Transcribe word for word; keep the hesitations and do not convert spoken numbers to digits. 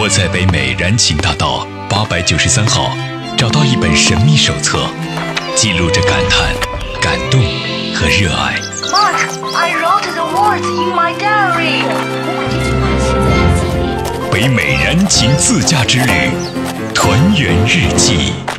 我在北美燃情大道八百九十三号找到一本神秘手册，记录着感叹、感动和热爱。 Mark, I wrote the words in my diary. 北美燃情自驾之旅，团圆日记。